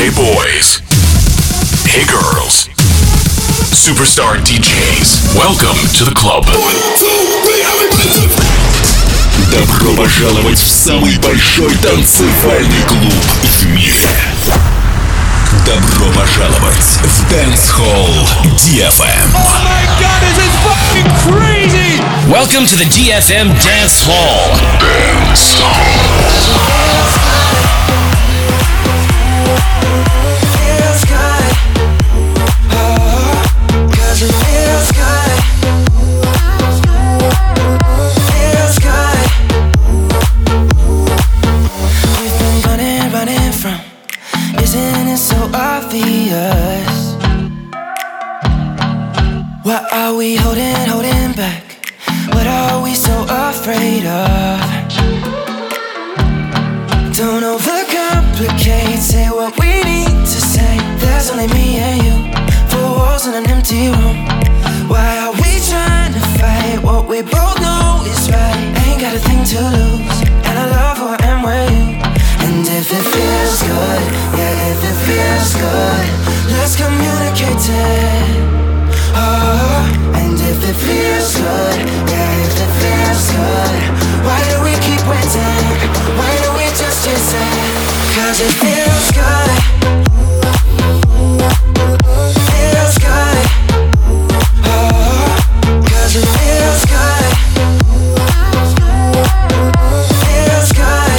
Hey boys. Hey girls. Superstar DJs. Welcome to the club. Добро пожаловать в самый большой танцевальный клуб в мире. Добро пожаловать в Dance Hall DFM. Oh my god, this is fucking crazy! Welcome to the DFM Dance Hall. Dance Hall. Feels good. Oh, 'cause it feels good. Feels good. We've been running from. Isn't it so obvious? What are we holding back? What are we so afraid of? Don't overcomplicate, say what we need to say. There's only me and you, four walls in an empty room. Why are we trying to fight what we both know is right? Ain't got a thing to lose, and I love who I am with you. And if it feels good, yeah, if it feels good, let's communicate it. Oh, and if it feels good, yeah, if it feels good, why do we keep waiting? Why do we just chase it? 'Cause it feels good. Feels good. Oh, 'cause it feels good. Feels good.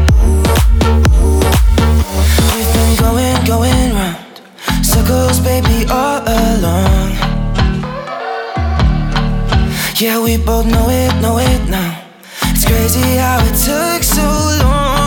We've been going round circles, baby, all along. Yeah, we both know it now. It's crazy how it took so long.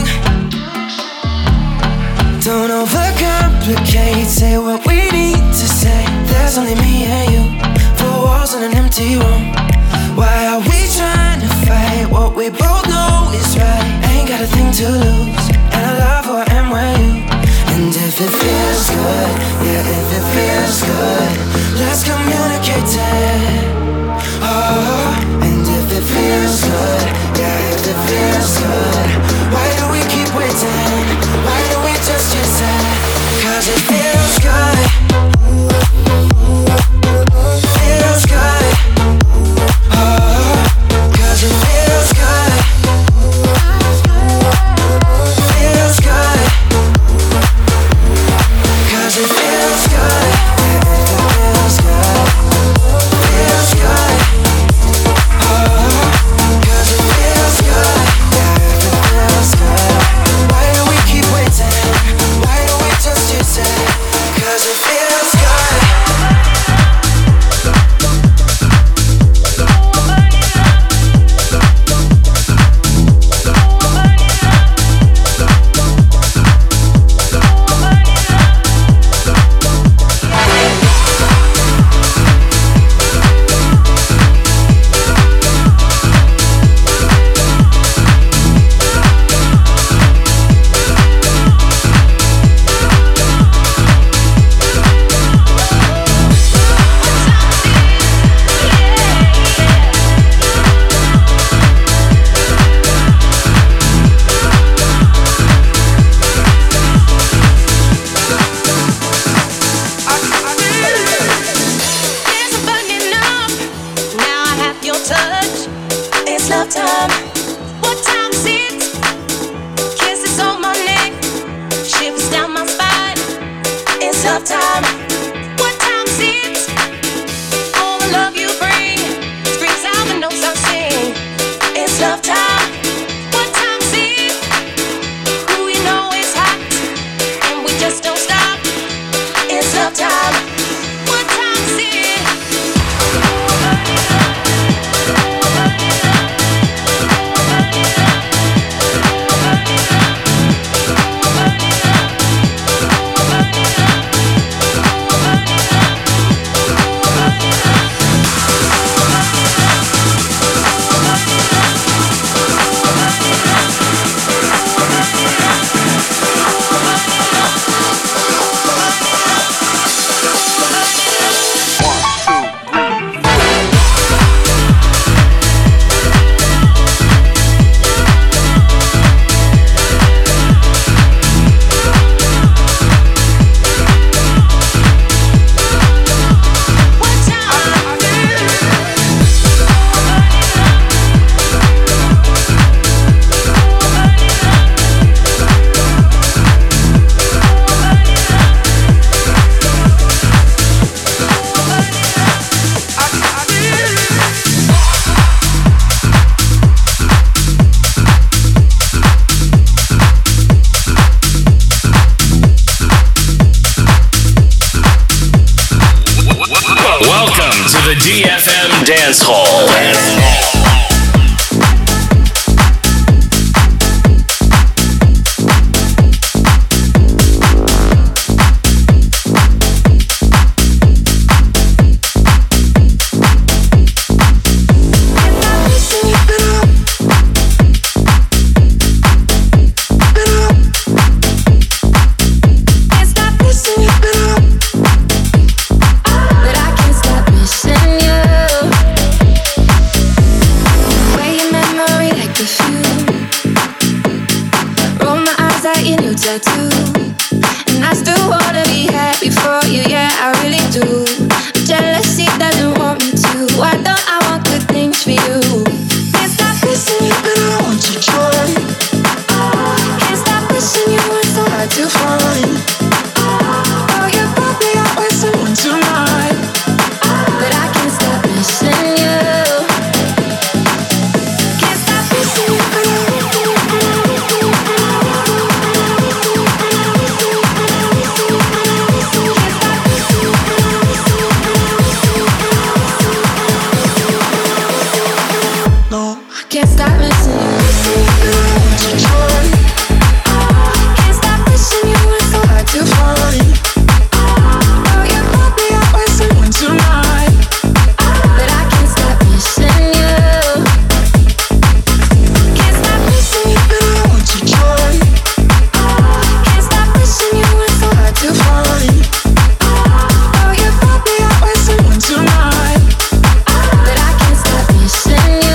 Don't overcomplicate, say what we need to say. There's only me and you, four walls in an empty room. Why are we trying to fight what we both know is right? Ain't got a thing to lose, and I love who I am with you. And if it feels good, yeah, if it feels good, let's communicate it. Oh, and if it feels good, yeah, if it feels good, why do we keep waiting? Why do we just chase it? 'Cause it feels good. Feels good. Oh, 'cause it feels good. Feels good. 'Cause it feels good. Yeah, if it feels good. Feels good. get your new tattoo. And I still wanna be happy for you, yeah, I really do. But jealousy doesn't want me to. Why don't I want good things for you? Can't stop missing you, but I want to try. Can't stop wishing you were so hard to find. Oh, you brought me out with someone tonight, but I can't stop missing you. Can't stop missing you, but I want to can't stop missing you, but I want to try. Can't stop wishing you were so hard to find. Oh, you brought me out with someone tonight, but I can't stop missing you. Can't stop missing you, but I want to try. Can't stop wishing you were so hard to find. Oh, you brought me out with someone tonight, but I can't stop missing you.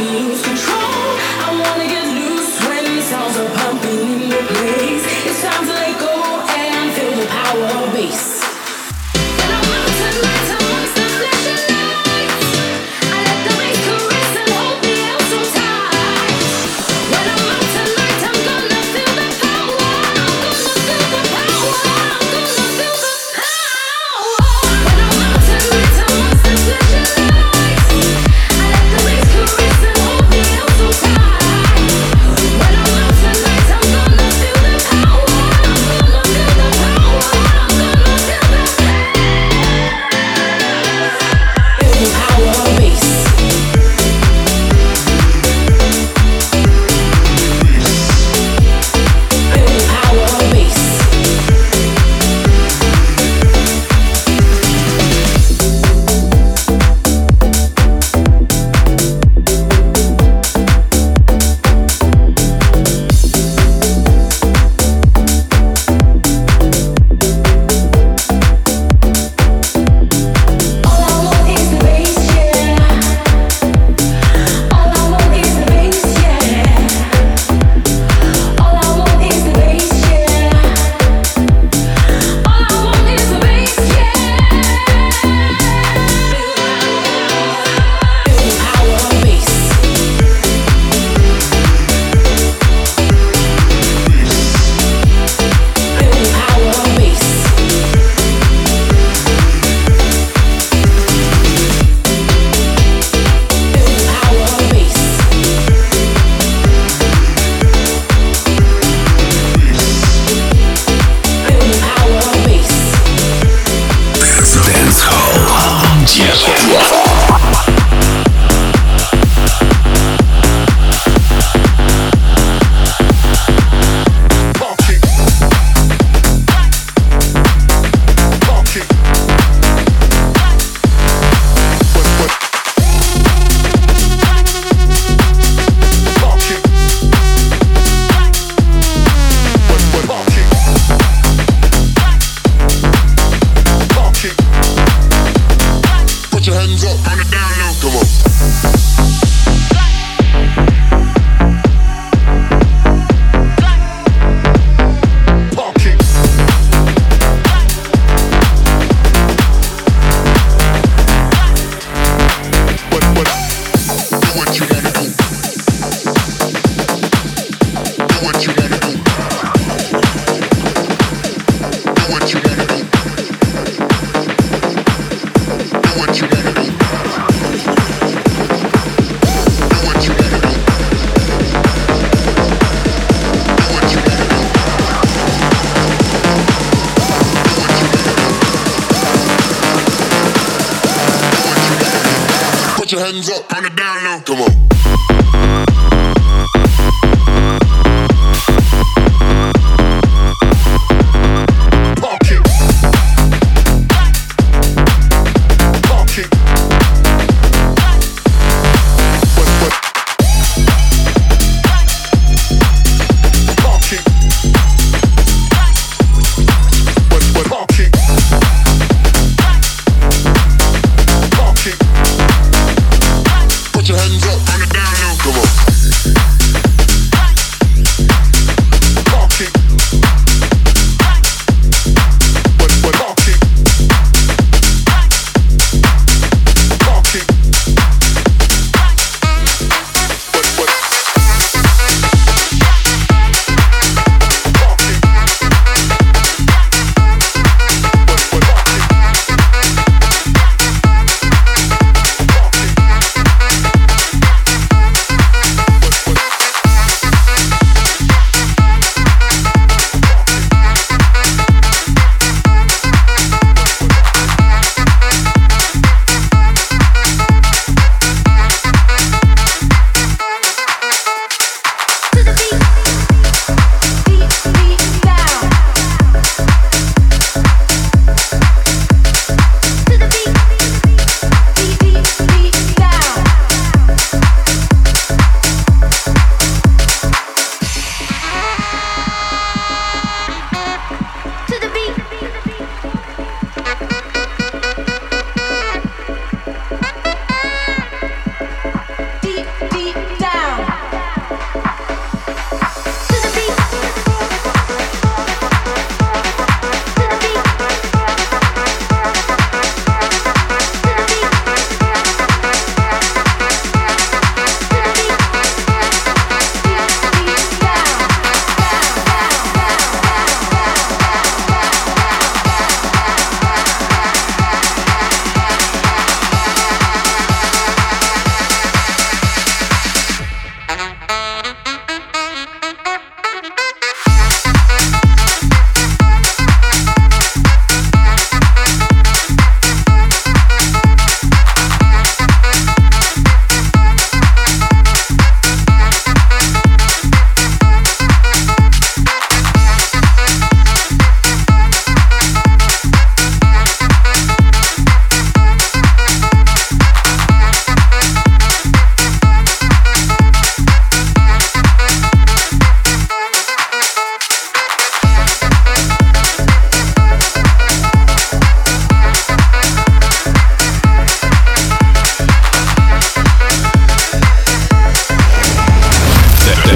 your hands up on the down low. Come on.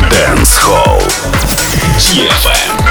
Dance Hall DFM.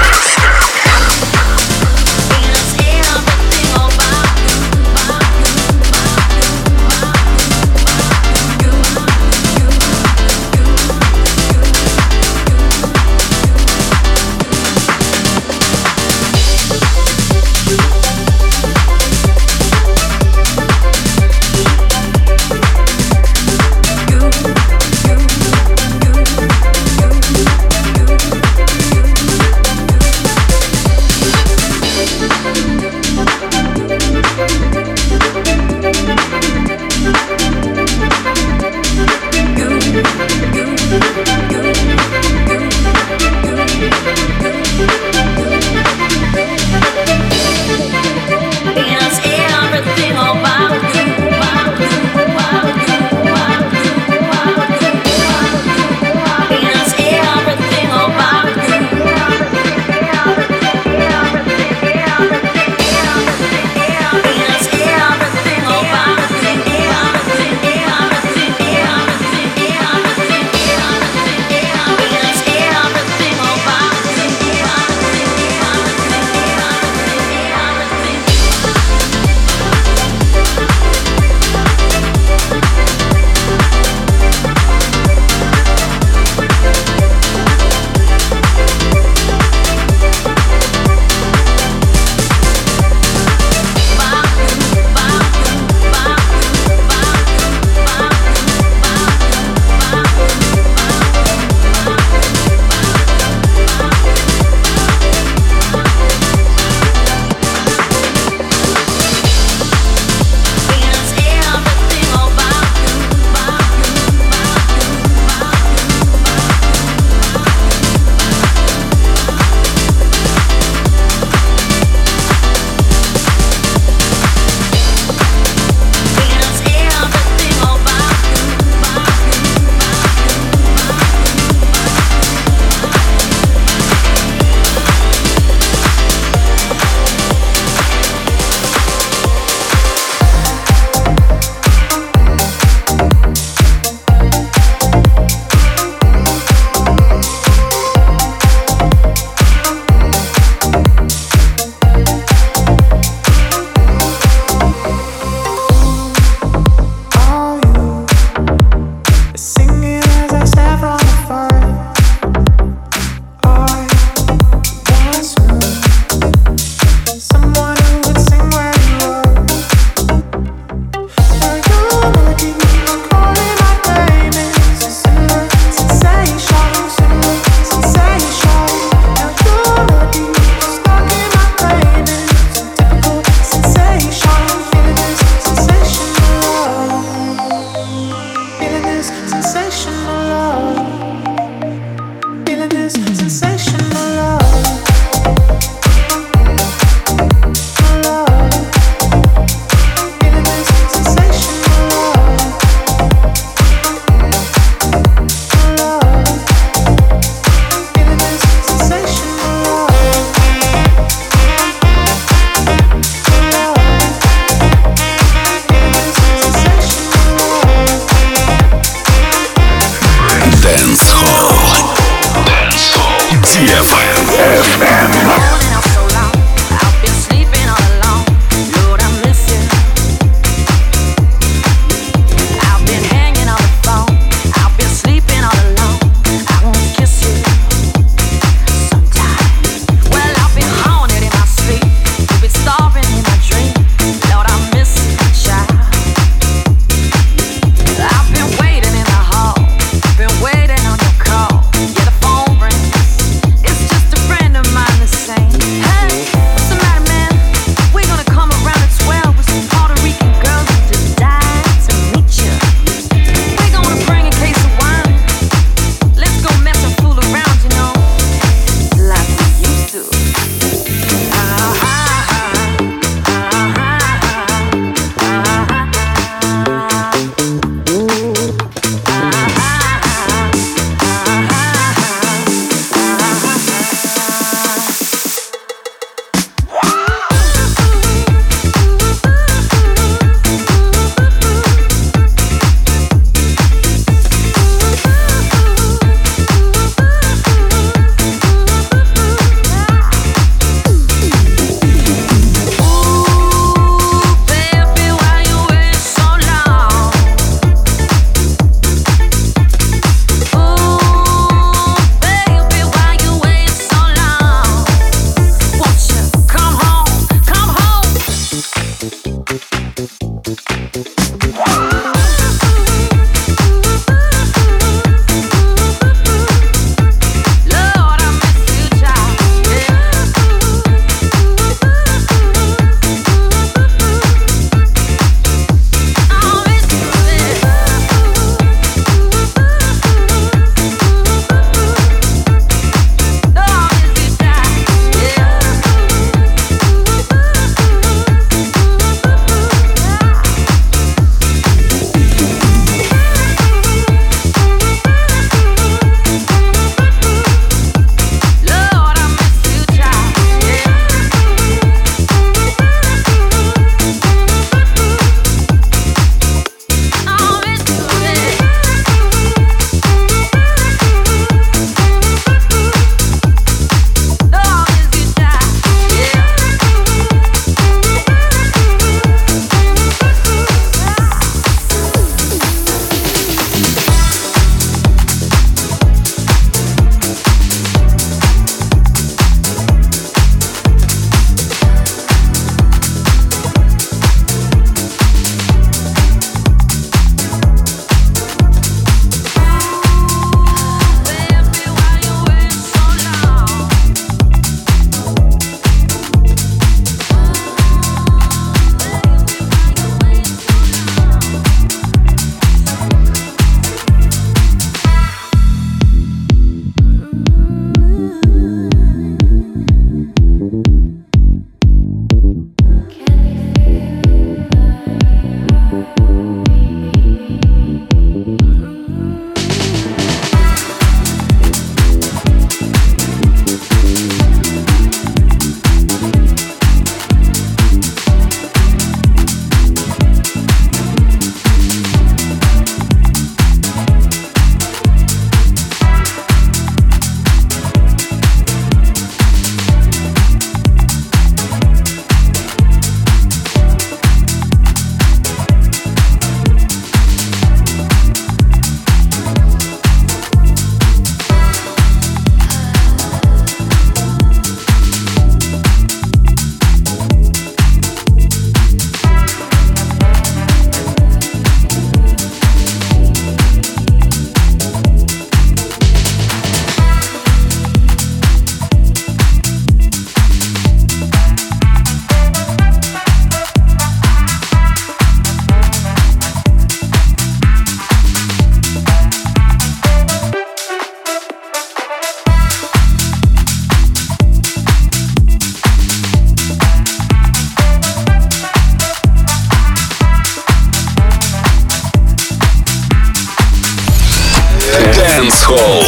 Dance Hall.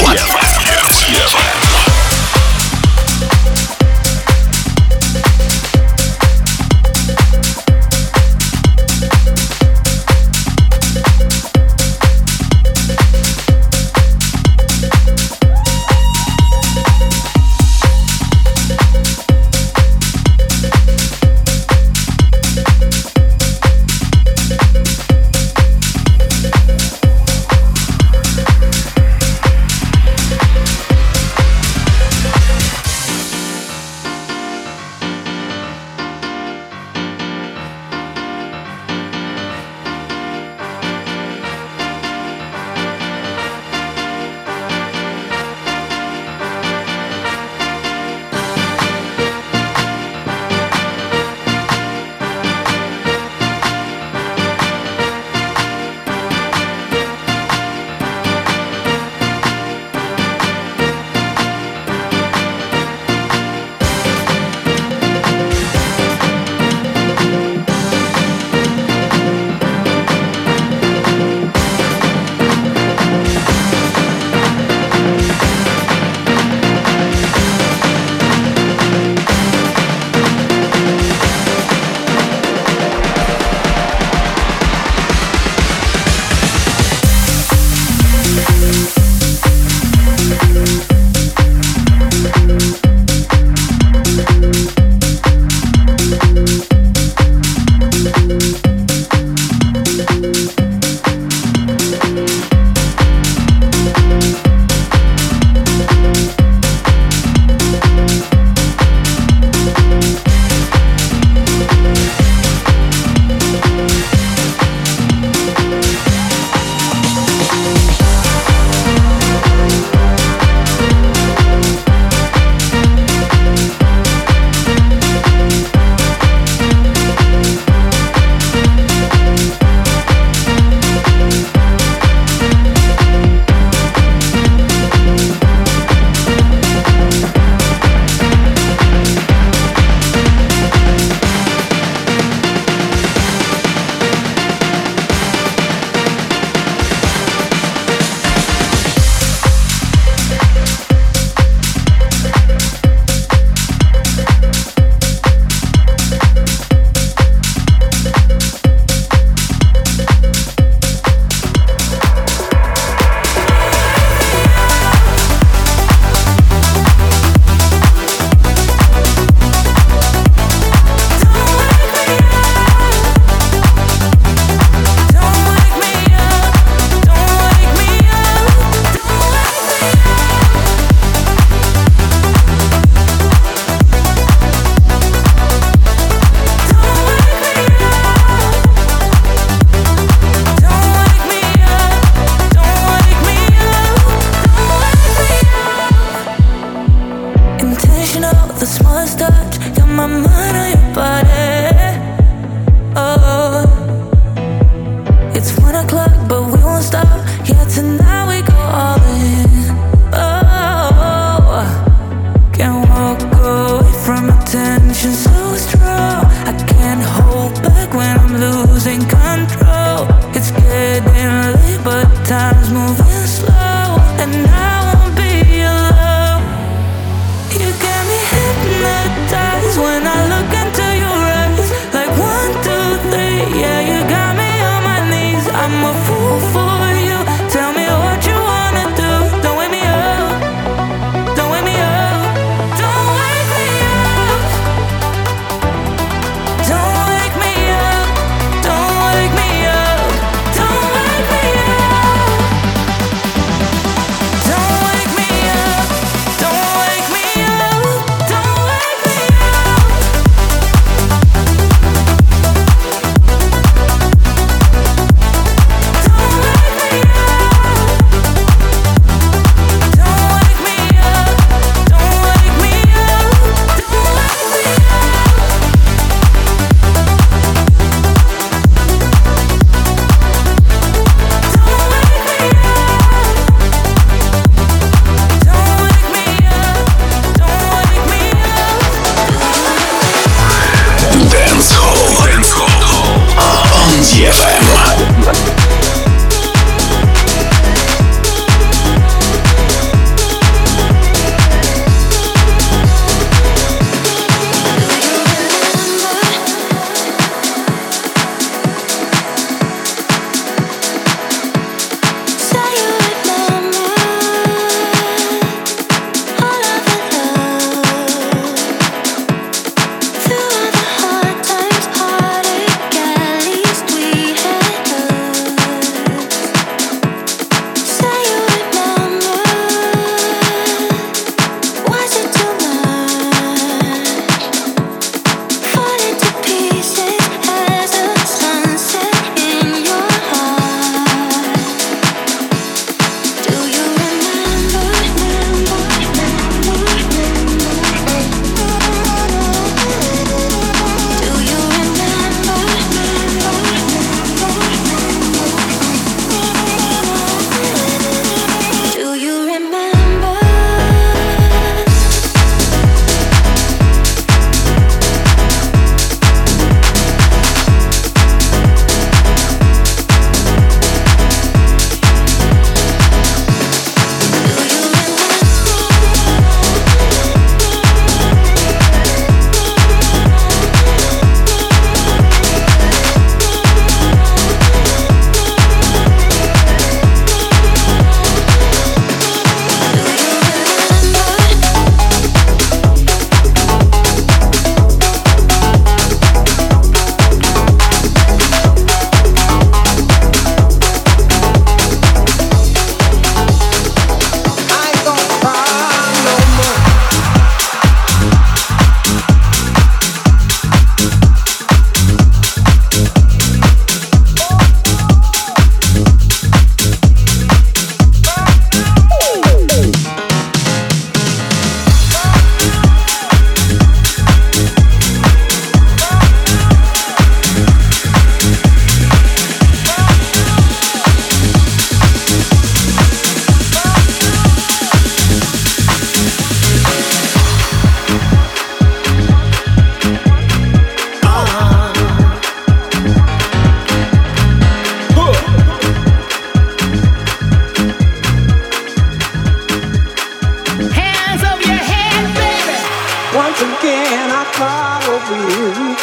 I cry over you.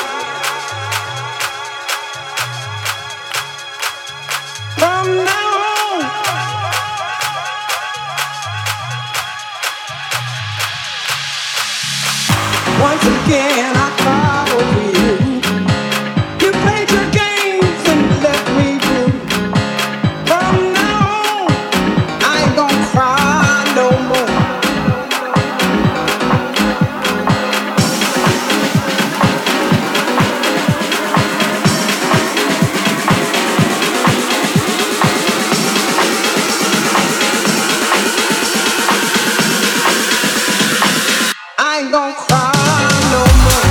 From now on, once again I cry over you. You played your games and left me blue. From now on, I ain't gonna cry no more. I ain't gonna cry no more.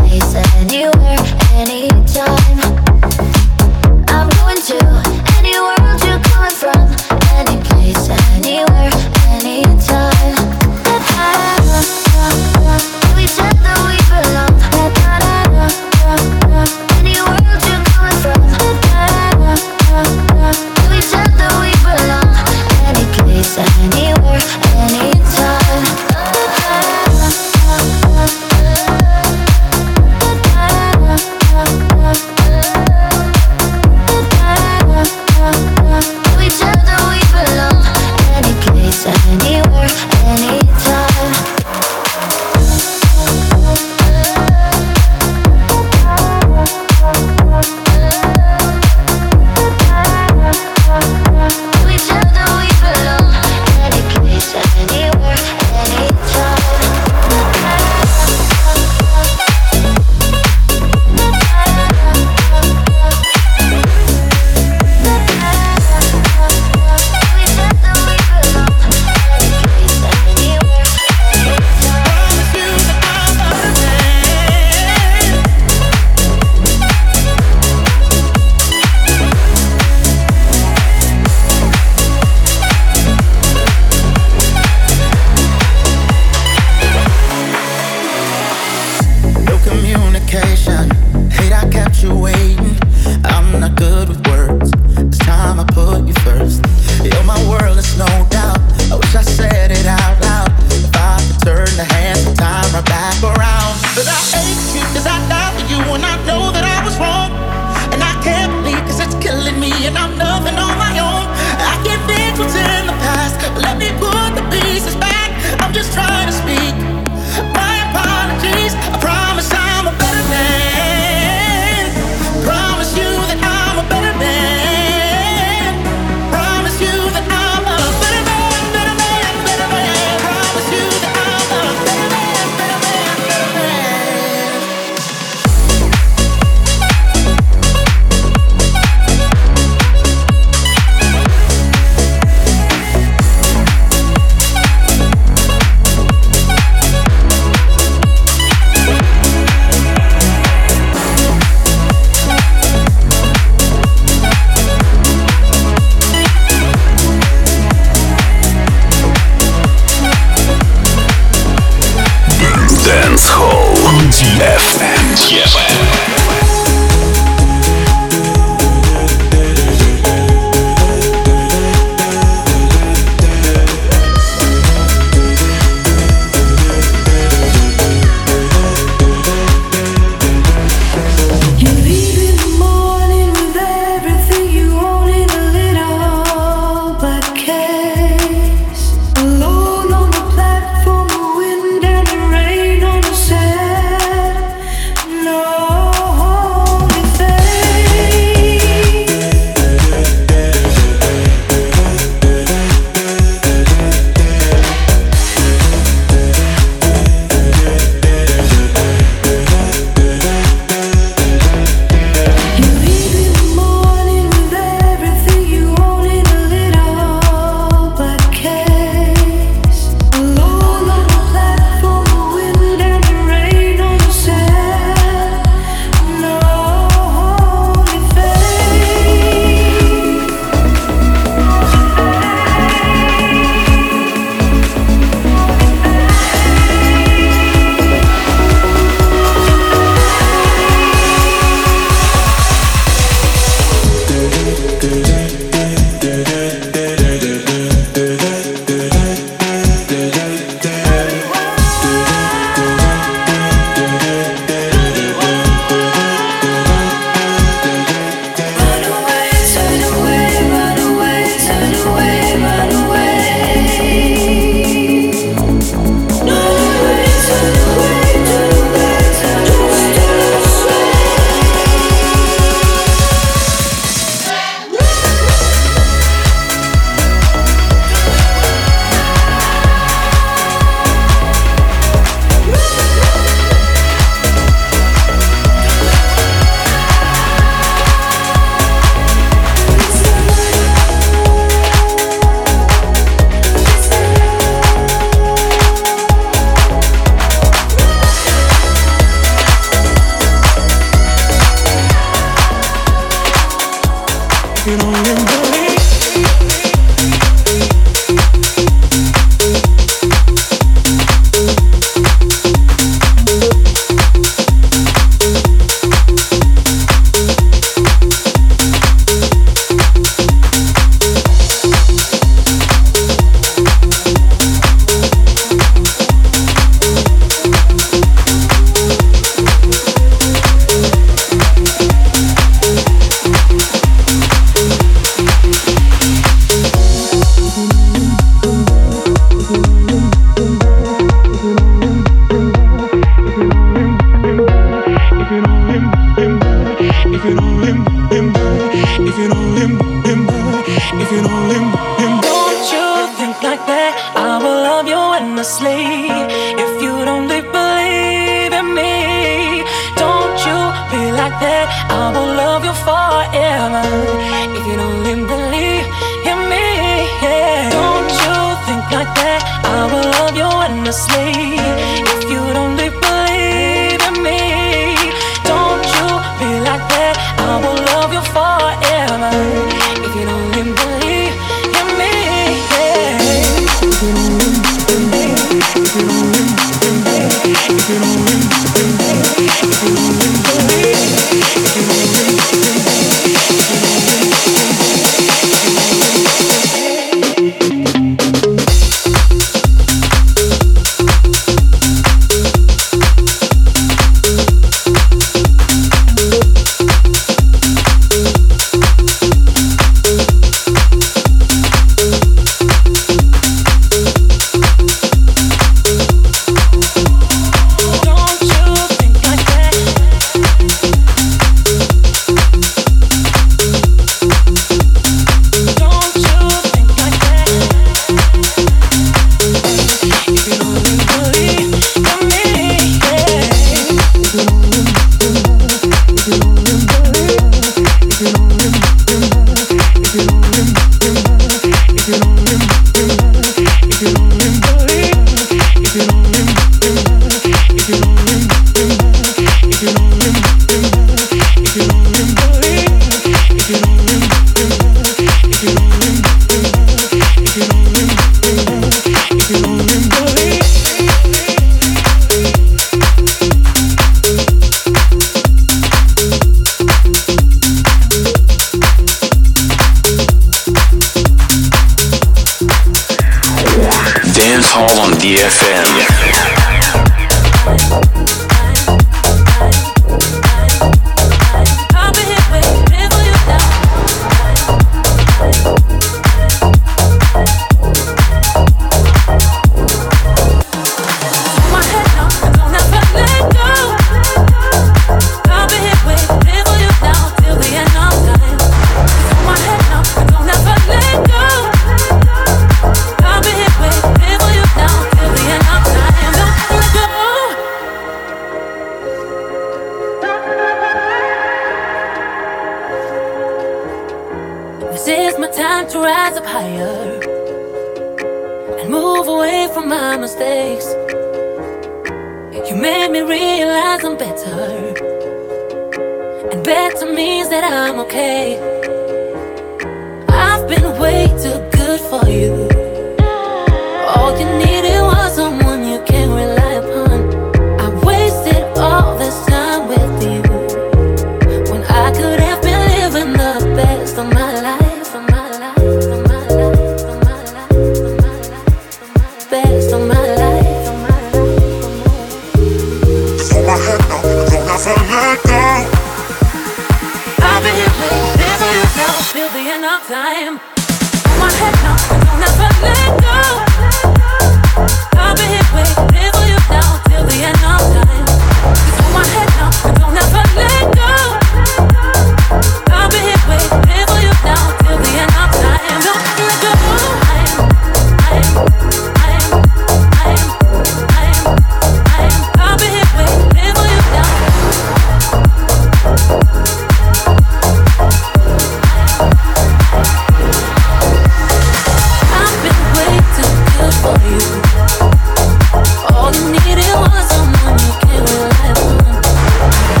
All you needed was someone you can rely on.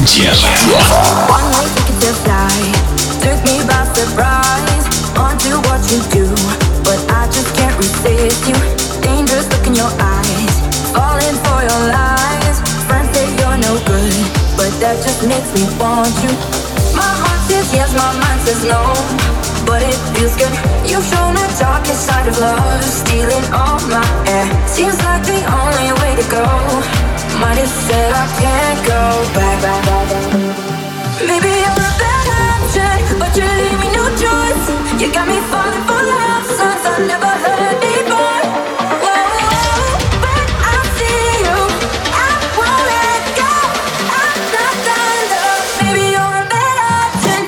DFM. One way ticket to fly took me by surprise onto what you do, but I just can't resist you. Dangerous look in your eyes, falling for your lies. Friends say you're no good, but that just makes me want you. My heart says yes, my mind says no, but it feels good. You've shown the darkest side of love, stealing all my air. Seems like the only way to go. Might have said I can't go back. Maybe you're a bad option, but you leave me no choice. You got me falling for love songs I never heard before. Whoa, but I see you, I won't let go. I'm not done, love. Maybe you're a bad option.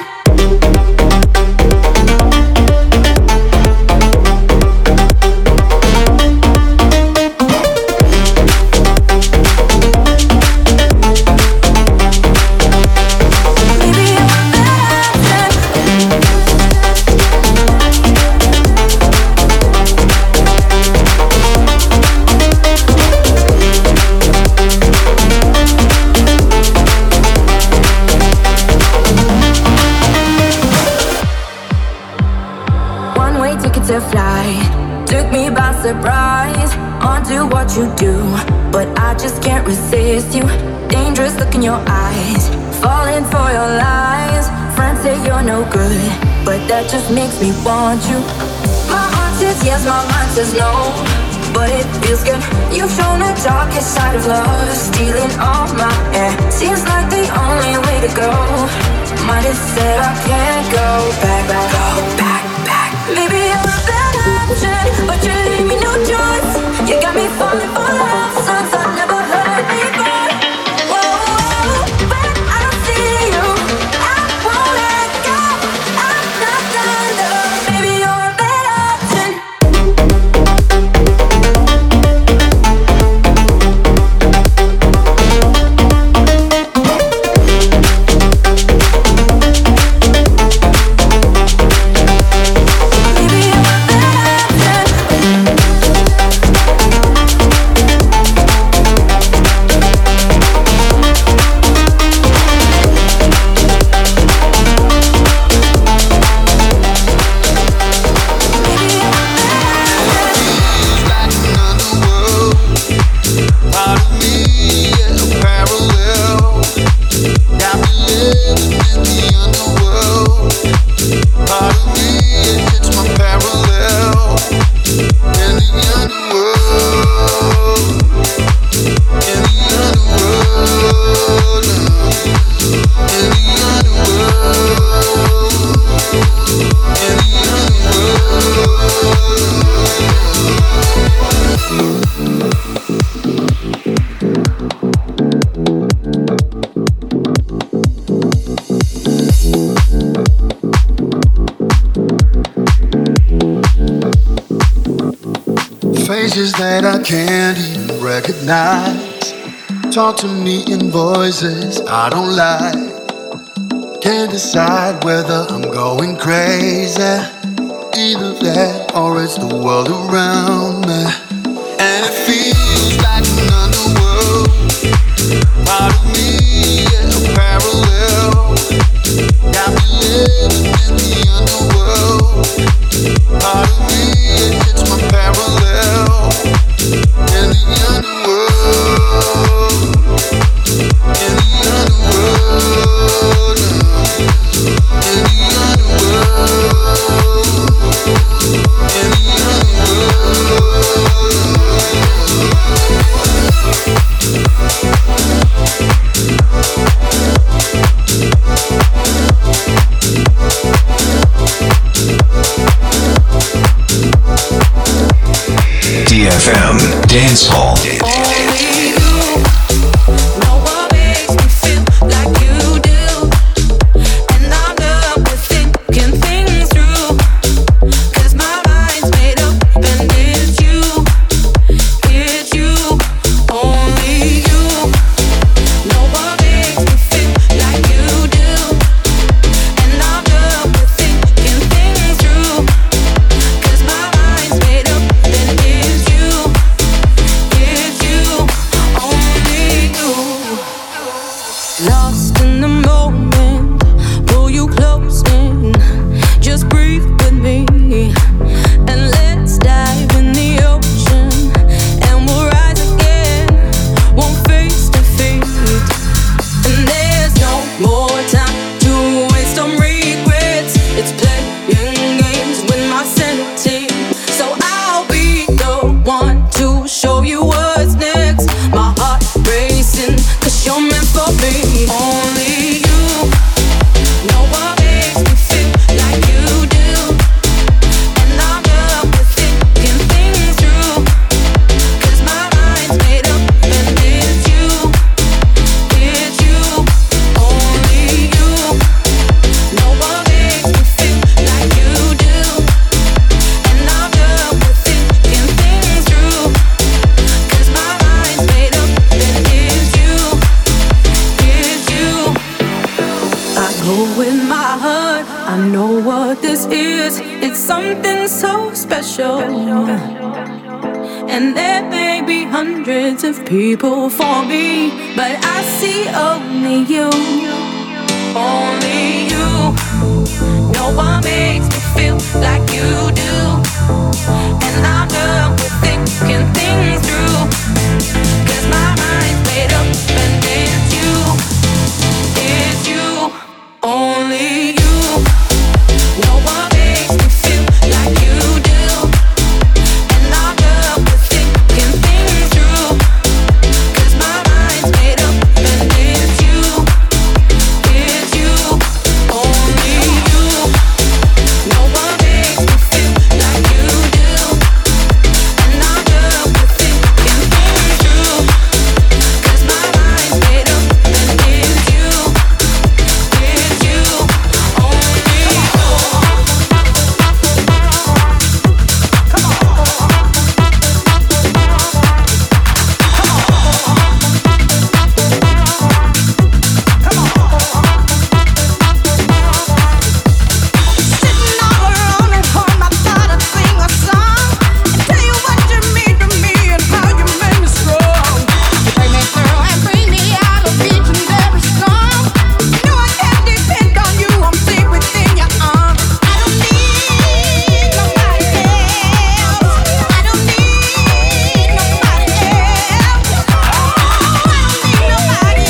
To fly took me by surprise onto what you do, but I just can't resist you. Dangerous look in your eyes, falling for your lies. Friends say you're no good, but that just makes me want you. My heart says yes, my mind says no, but it feels good. You've shown the darkest side of love, stealing all my air. Seems like the only way to go. Might have said I can't go back. Maybe you're a bad option, but you leave me no choice. You got me falling for love songs I never heard before. Whoa, but I see you, I won't let go. I'm not done, love. Maybe you're a bad option. Faces that I can't even recognize talk to me in voices I don't like. Can't decide whether I'm going crazy. Either that or it's the world around me. And it feels like an underworld. Part of me is a parallel. Got me living in the underworld. Part of me it's my parallel. In the underworld. In the underworld. In the underworld. In the DFM Dance Hall. Yeah. I know what this is. It's something so special. And there may be hundreds of people for me, but I see only you. Only you. No one makes me feel like you do. And I'm done with thinking things through. 'Cause my mind's made up and it's you. It's you. Only you. No one makes me feel like you do. And I'm done with thinking things through. 'Cause my mind's made up and it's you. It's you. Only you. No one makes me feel like you do. And I'm done with thinking things through. 'Cause my mind's made up and it's you. It's you. Only you. Sitting all alone at home, I thought I'd sing a song and tell you what you mean to me and how you make me strong. You bring me through and bring me out of each and every storm. You know I can't depend on you, I'm safe within your arms. I don't need nobody else. I don't need nobody else. Oh, I don't need nobody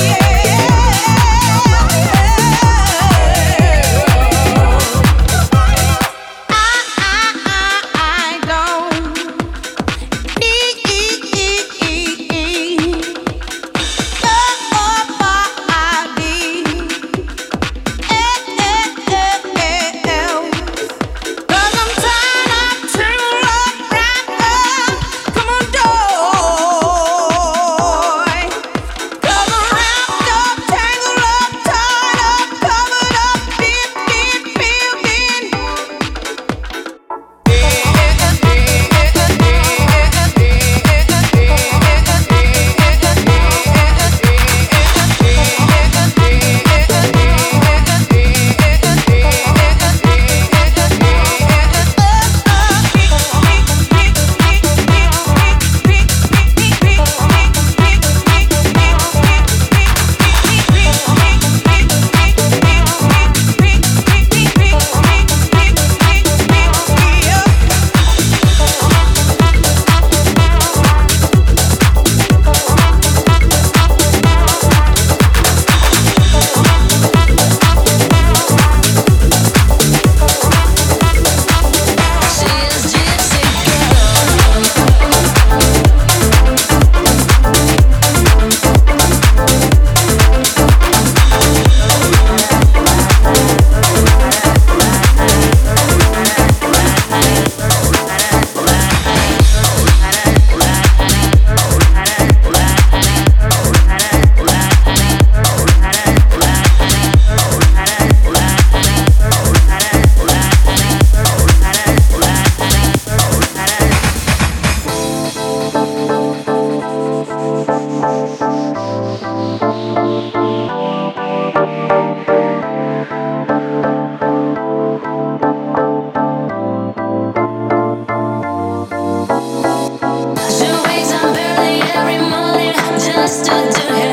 She wakes up early every morning just to do her